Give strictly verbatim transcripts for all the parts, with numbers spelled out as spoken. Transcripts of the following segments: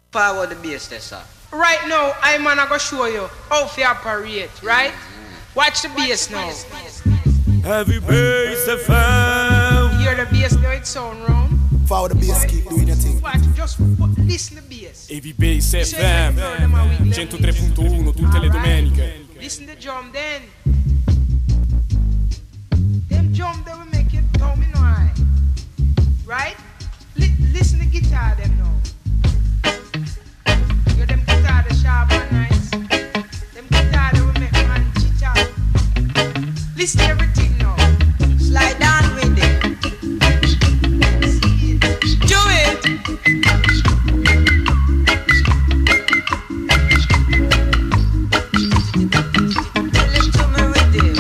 Forward the bass there, sir. Right now, I'm gonna go show you how to operate, right? Watch the bass now. Heavy bass F M. Hear the bass now, it sound round. Forward the bass, keep doing your thing. Watch, just put, listen to the bass. Heavy bass F M. centotré punto uno tutte le domeniche. Listen to the drum then. Them drum they will make it domino, right? Li listen to guitar them now. You them guitar the sharp and nice. Them guitar they will make man chit out. Listen to everything now. Slide down with it. Do it. Tell it to me with him.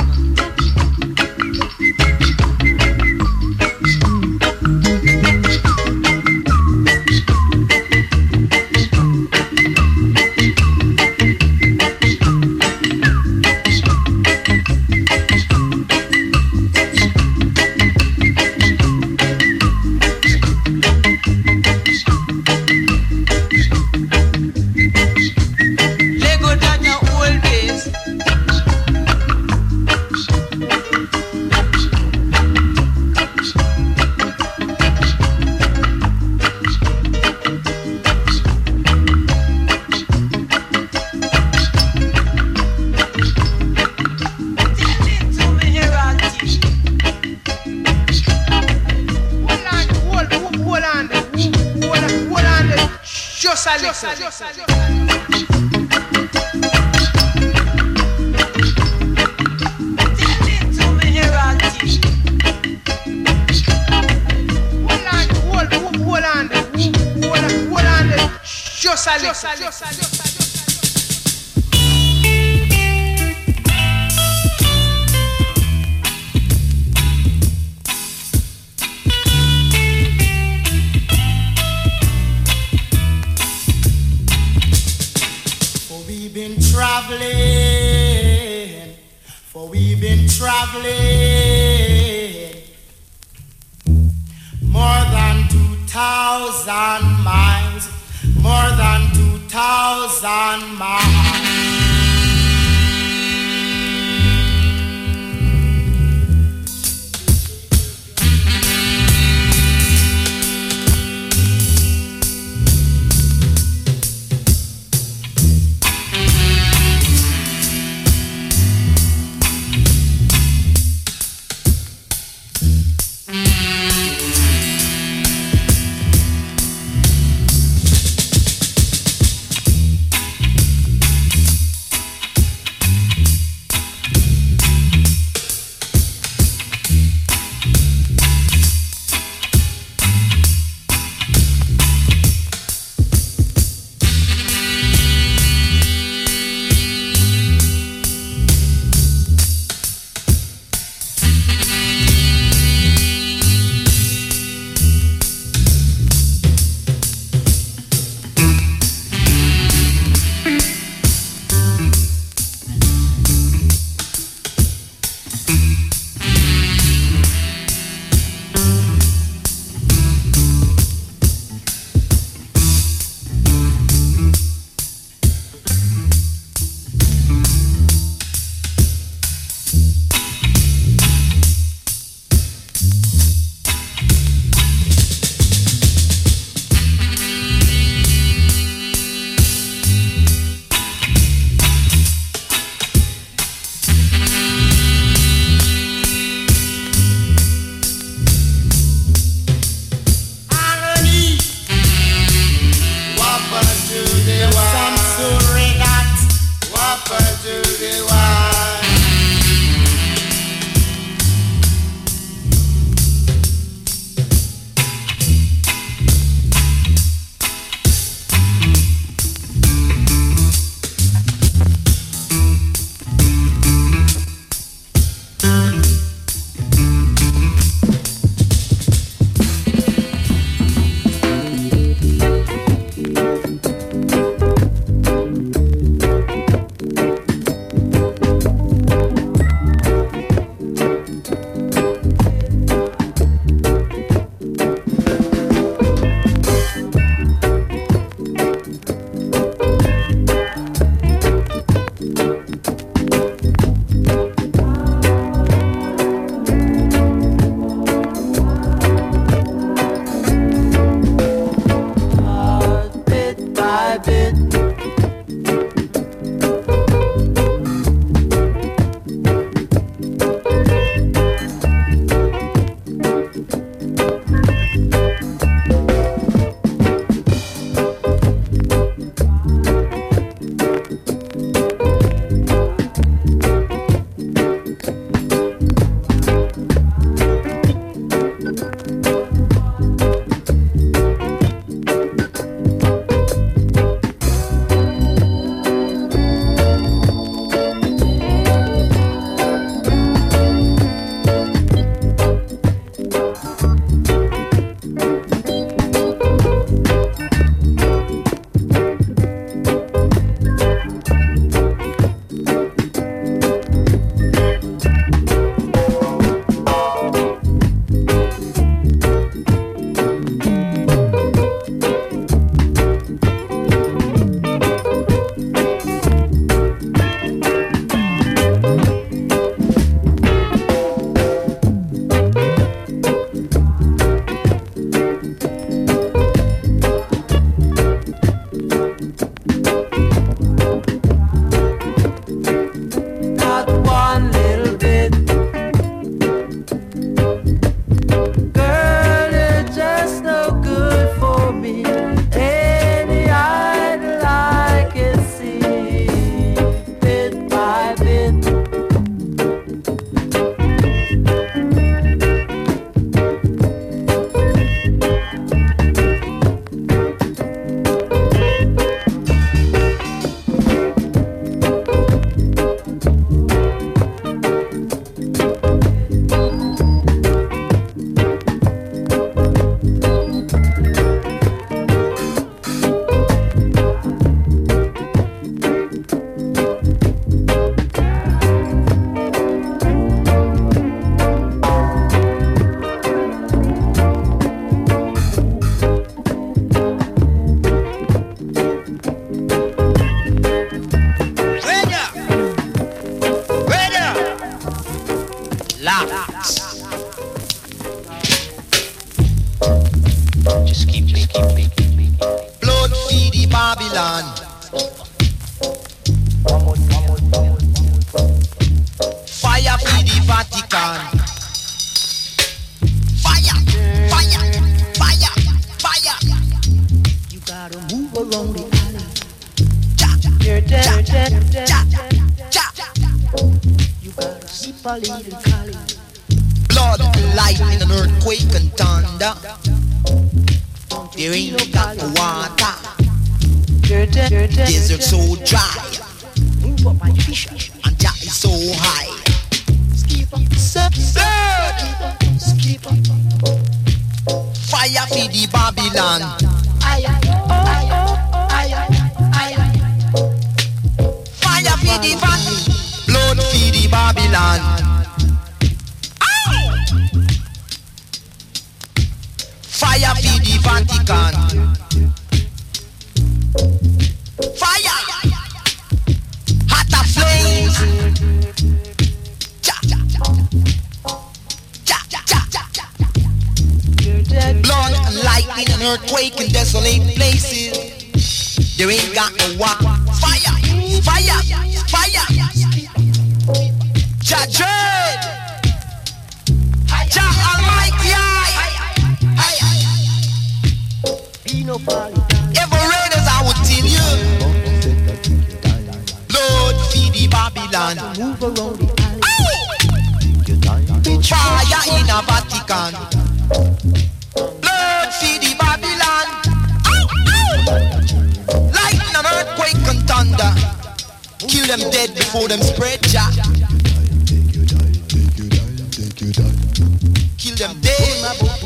Lego down your old base. Tell it to me, Herati. Hold on, hold, hold, hold on, there. hold on, hold on, there. Just a little. Tell it to me, Herati. Hold on, hold, hold, hold on, there. hold on, hold on, there. Just a little. For we've been traveling, for we've been traveling more than two thousand miles, more than two thousand miles. Babylon. Fire for the Vatican. Fire, fire, fire, fire. You gotta move around the alley. Ja, You're dead, ja, dead, dead. ja, ja. You gotta sip a little Cali. Blood, lightning, and earthquake and thunder. There ain't got no water. You're dead, you're dead. Desert so dry, Move up my fish. and Jah is so high. Skip up, skip, skip up. Fire for the Babylon. Aye, aye, oh, aye, oh, aye, aye, aye. Fire for the Vatican. Blood for the Babylon. Ow! Fire for the Vatican. Fire! Hotter flames! Ja, ja, ja. Ja, ja, ja, ja. You're dead. Blood and lightning and earthquake in desolate places. There ain't got no water. Fire! Fire! Fire! Jah Dread! Jah Almighty! Be no party. Ever raiders, I would tell you. Blood feed the Babylon. Move around the alley. Fire in a Vatican. Blood feed the Babylon. Ow, ow. Lightning and earthquake and thunder. Kill them dead before them spread, Jah. Kill them dead.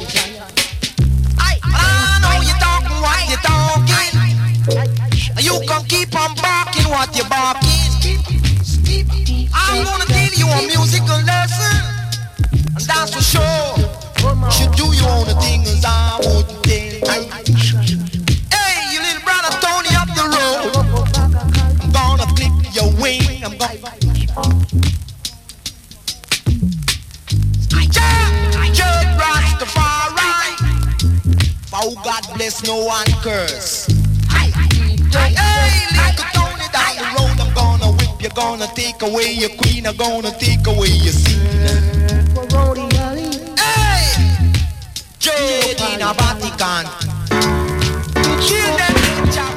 I, I know you talking what you talking. You can keep on barking what you barking. I'm gonna give you a musical lesson, and that's for sure. You should do your own thing as I wouldn't tell. Hey, you little brother Tony up the road. I'm gonna clip your wing. I'm gonna. Judge Rastafari. Oh, God bless, no one curse. Hey, little Tony down the road. I'm gonna whip you, gonna take away your queen. I'm gonna take away your scene. Hey, Jade in a Vatican. Kill them, chap.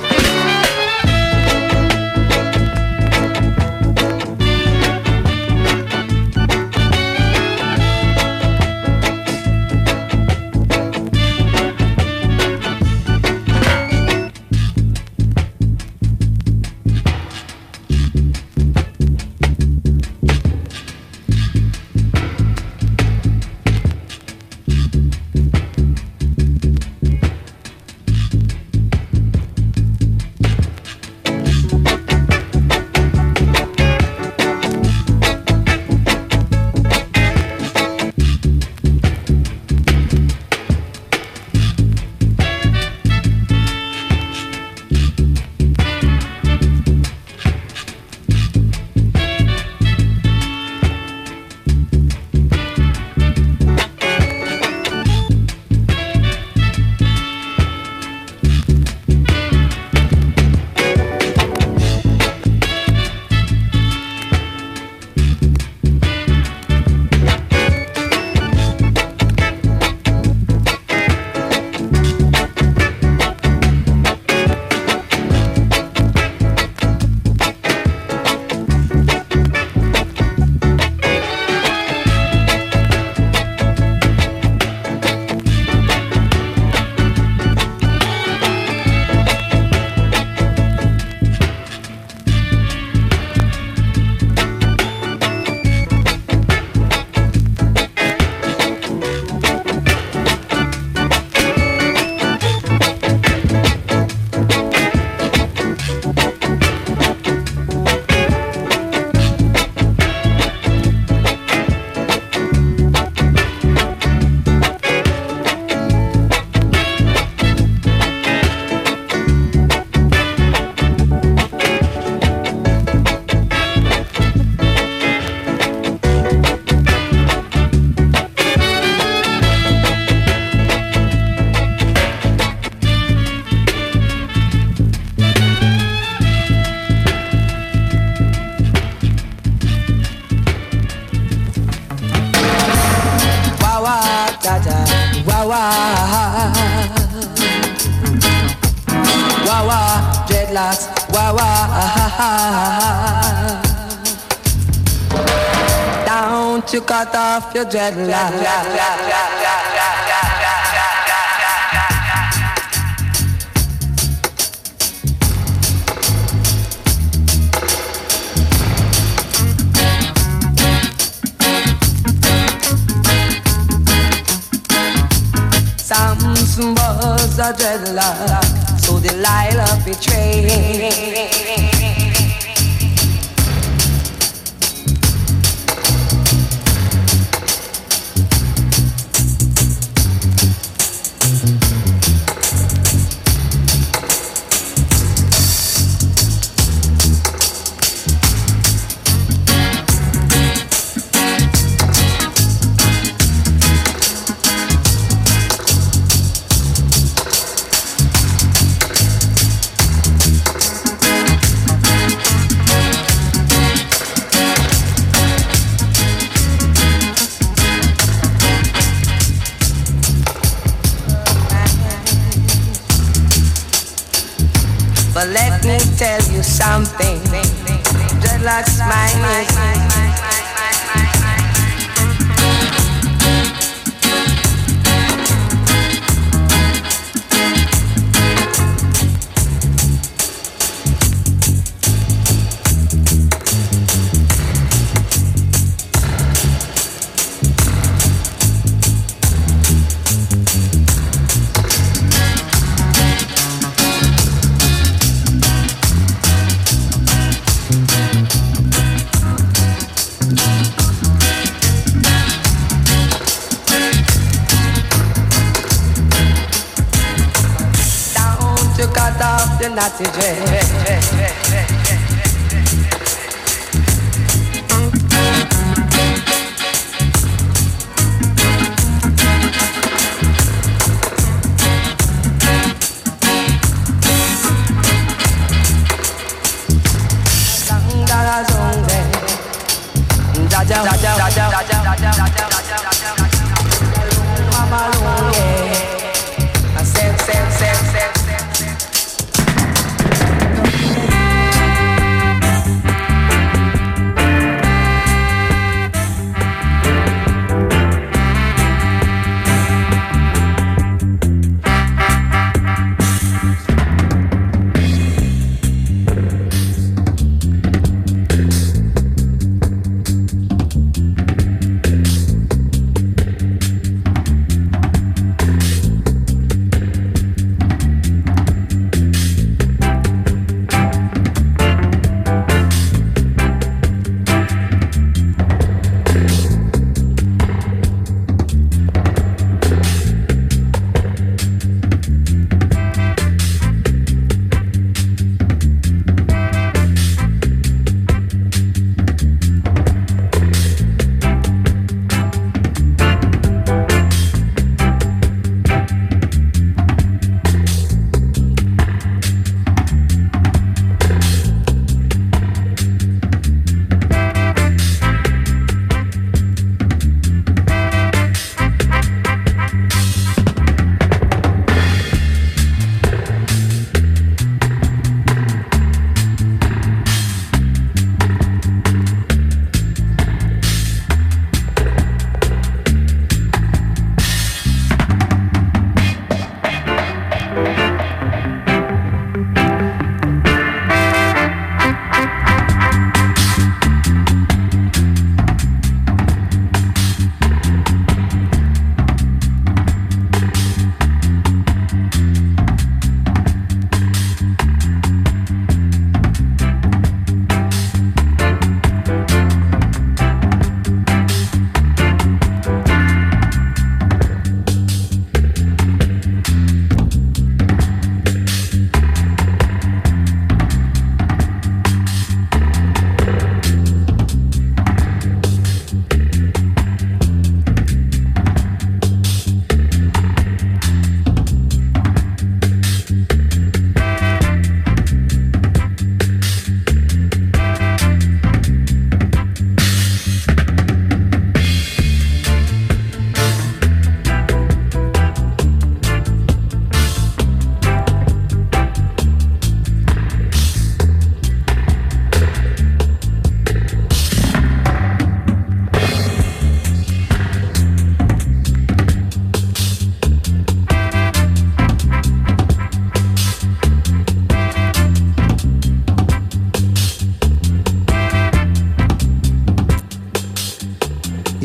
dreadlocks. Wah wah. Down to cut off your dreadlocks. Samson was a dreadlock, so Delilah betrayed. But let me tell you something, dreadlocks mine is. Naughty dread.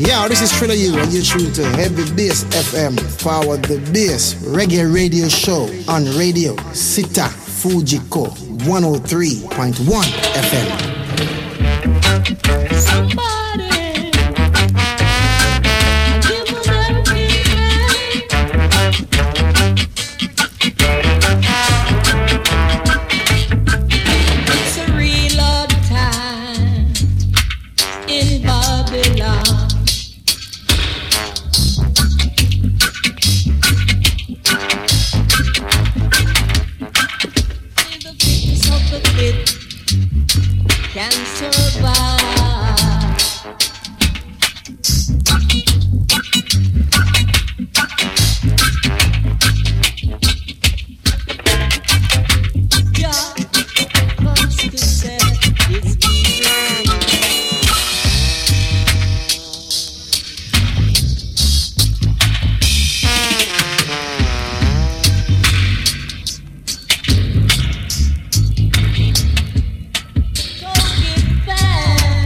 Yeah, this is Thriller U and you're tuned to Heavy Bass F M, Forward the Bass Reggae Radio Show on Radio Sita Fujiko one oh three point one F M. Somebody give them everything. It's a real odd time in Babylon. The fitness of the fit can survive. God comes to set His people. Don't give back.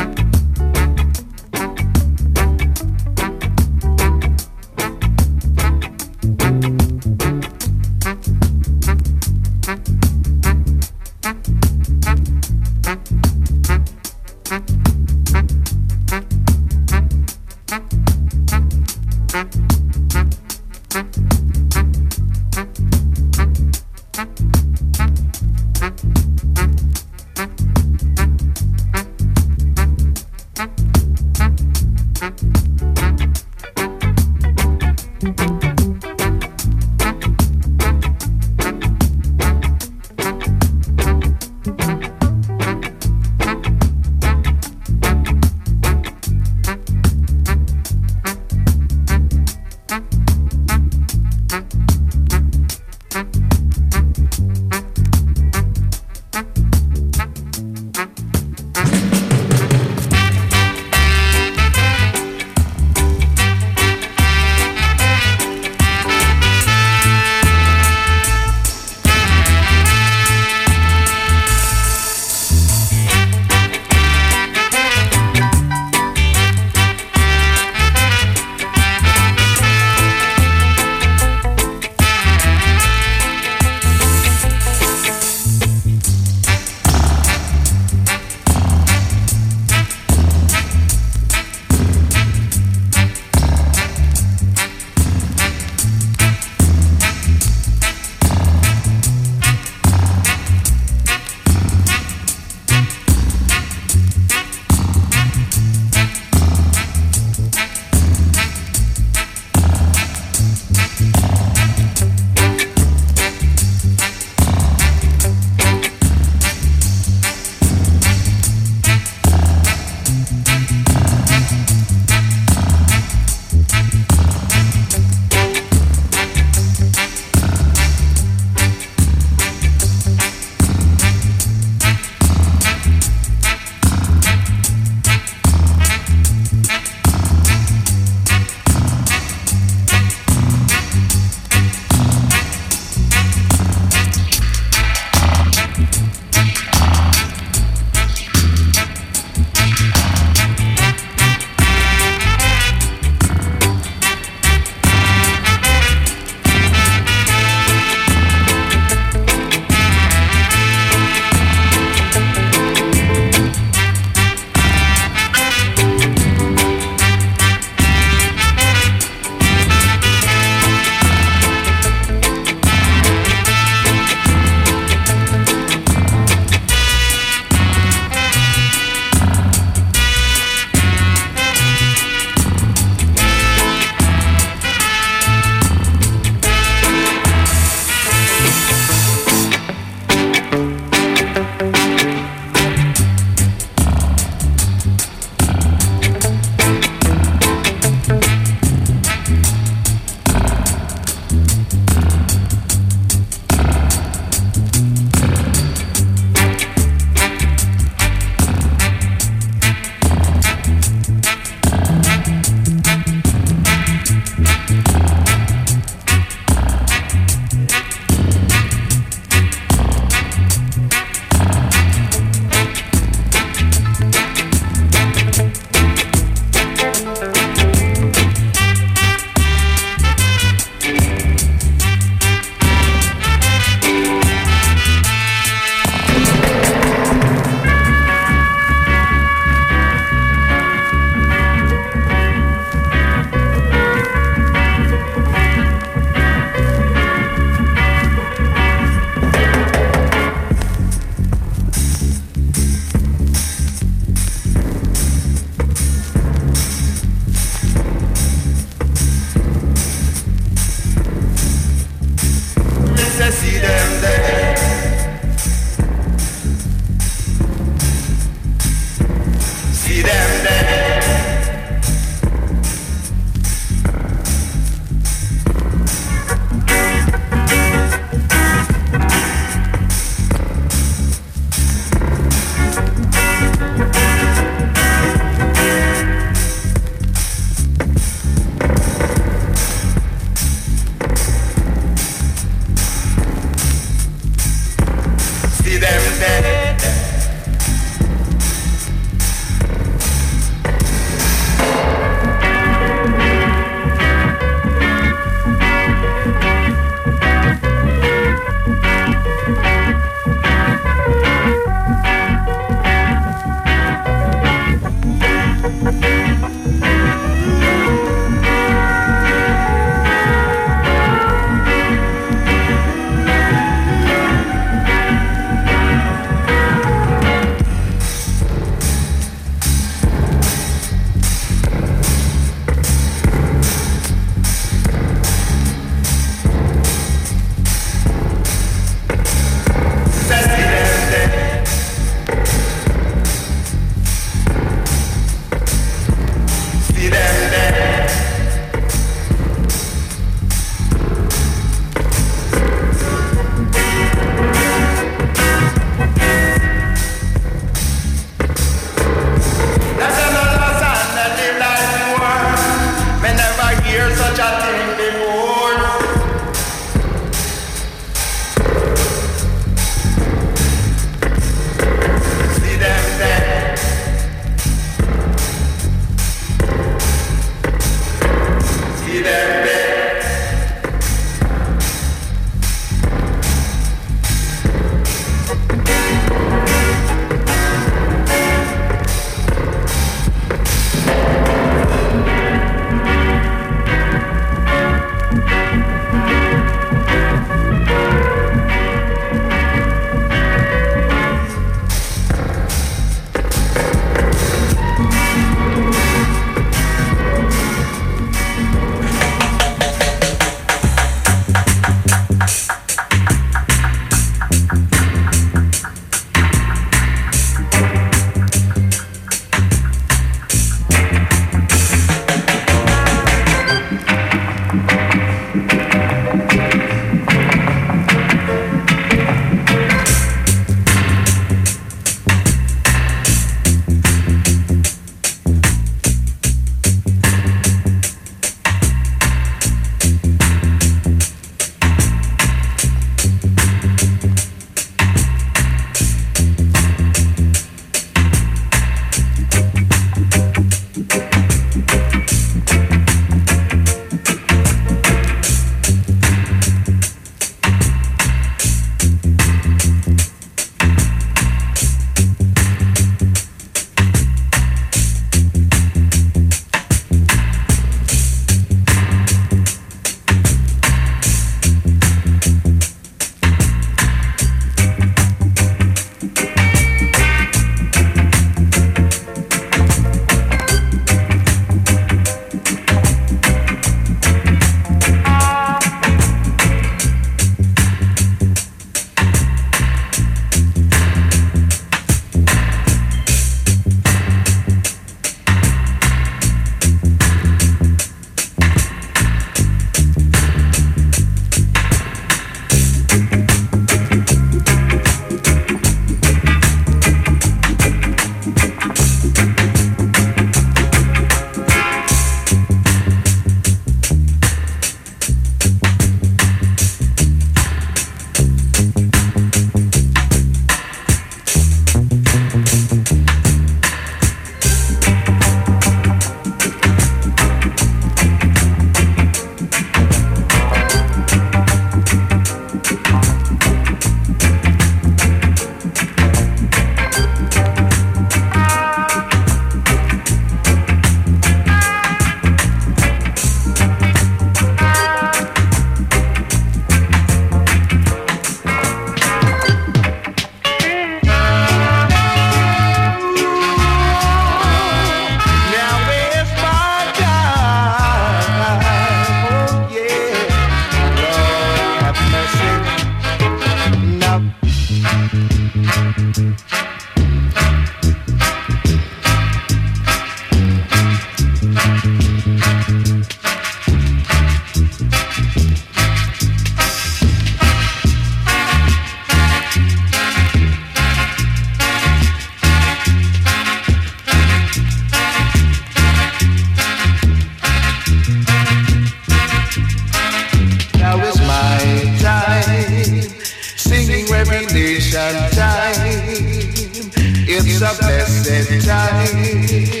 It's a blessed time.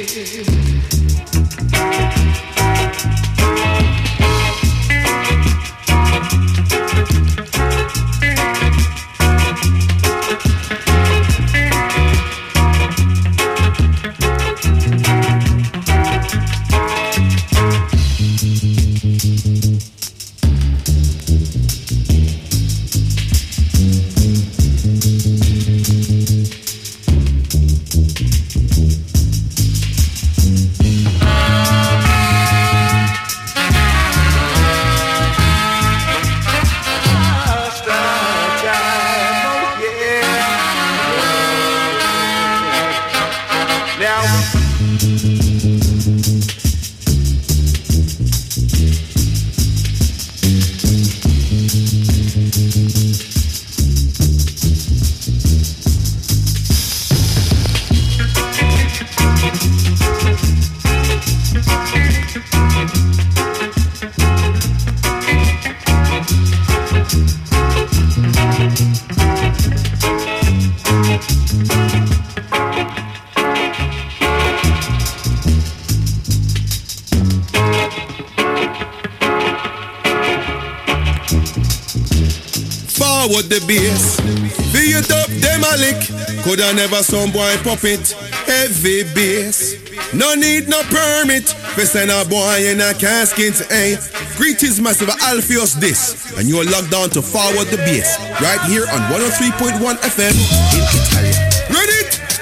The bass, feel it up, them a lick. Coulda never some boy pop it. Heavy bass, no need no permit. For send a boy in a casket, eh? Greetings, massive Alpheus this, and you're locked down to Forward the Bass right here on one oh three point one F M in Italy. Ready?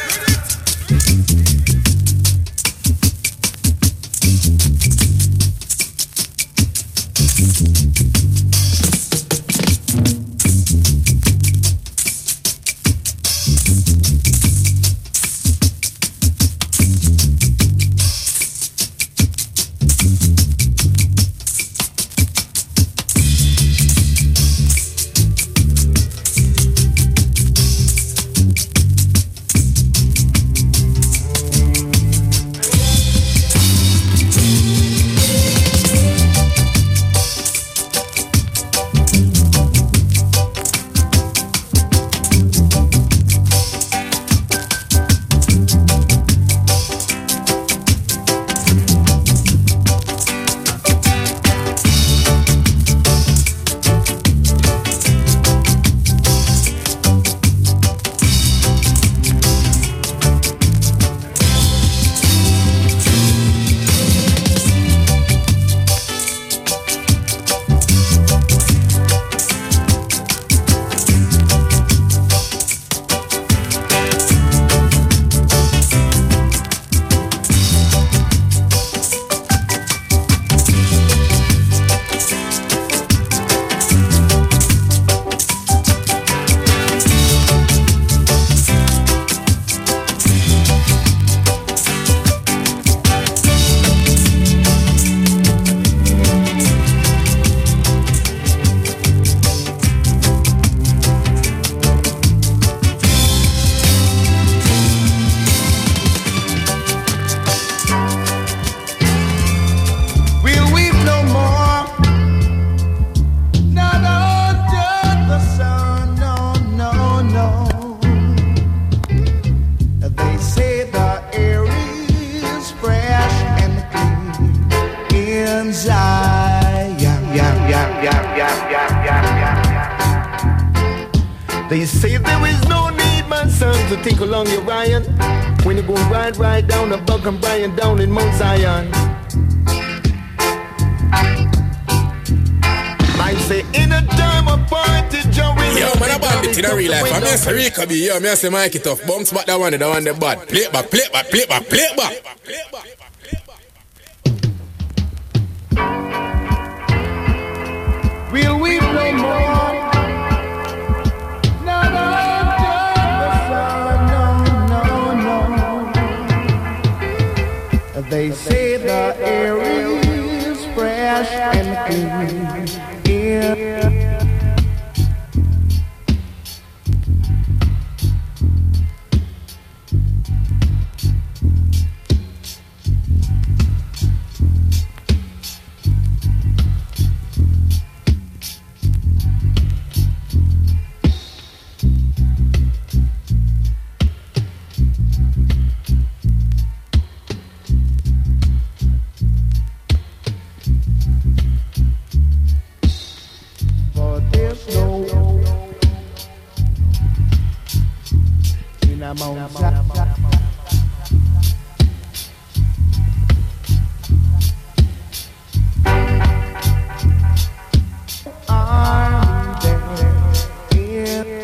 They say there is no need, my son, to think along your Ryan. When you go right, right down the Buck and Brian down in Mount Zion. I say in a time of party, Joey. Yo, man, I bandit in a real life. I'm here to Rico B. Yo, me say Mikey Tough. Bounce back that one, that one, the bad. Play it back, play it back, play it back, play it back. Will we no more? They say the air is fresh and clean. Yeah. in a Mount Zion. I'm there.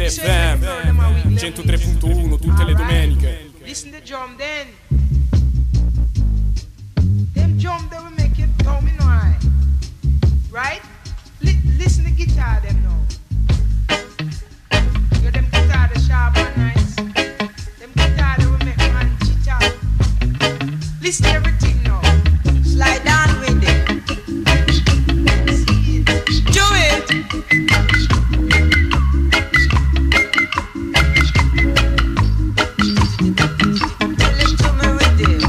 F M centotré punto uno tutte le domeniche. Listen to drum then. Them drum that will make you tell me no I. Right? Li- listen to guitar them now. You them guitar the sharp and nice. Them guitar that will make man chit out. Listen to everything now. Slide down with it. Do it. Tell it to me with it.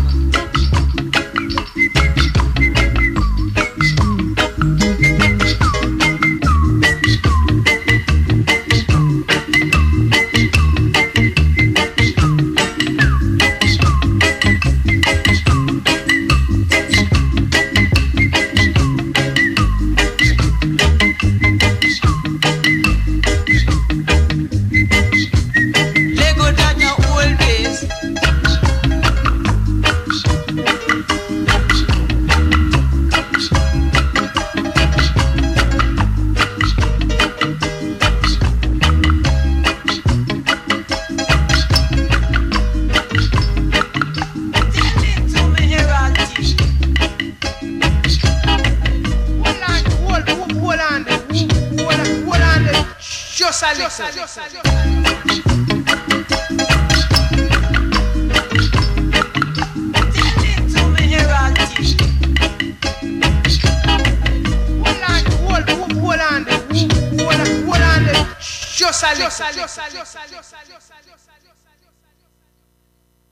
Lego down your old base. Tell it to me, Herati. Hold on, hold, hold, hold on, hold on, hold on, just a little. Tell it to me, Herati. Hold on, hold, hold, hold on, hold on, hold on, just a little.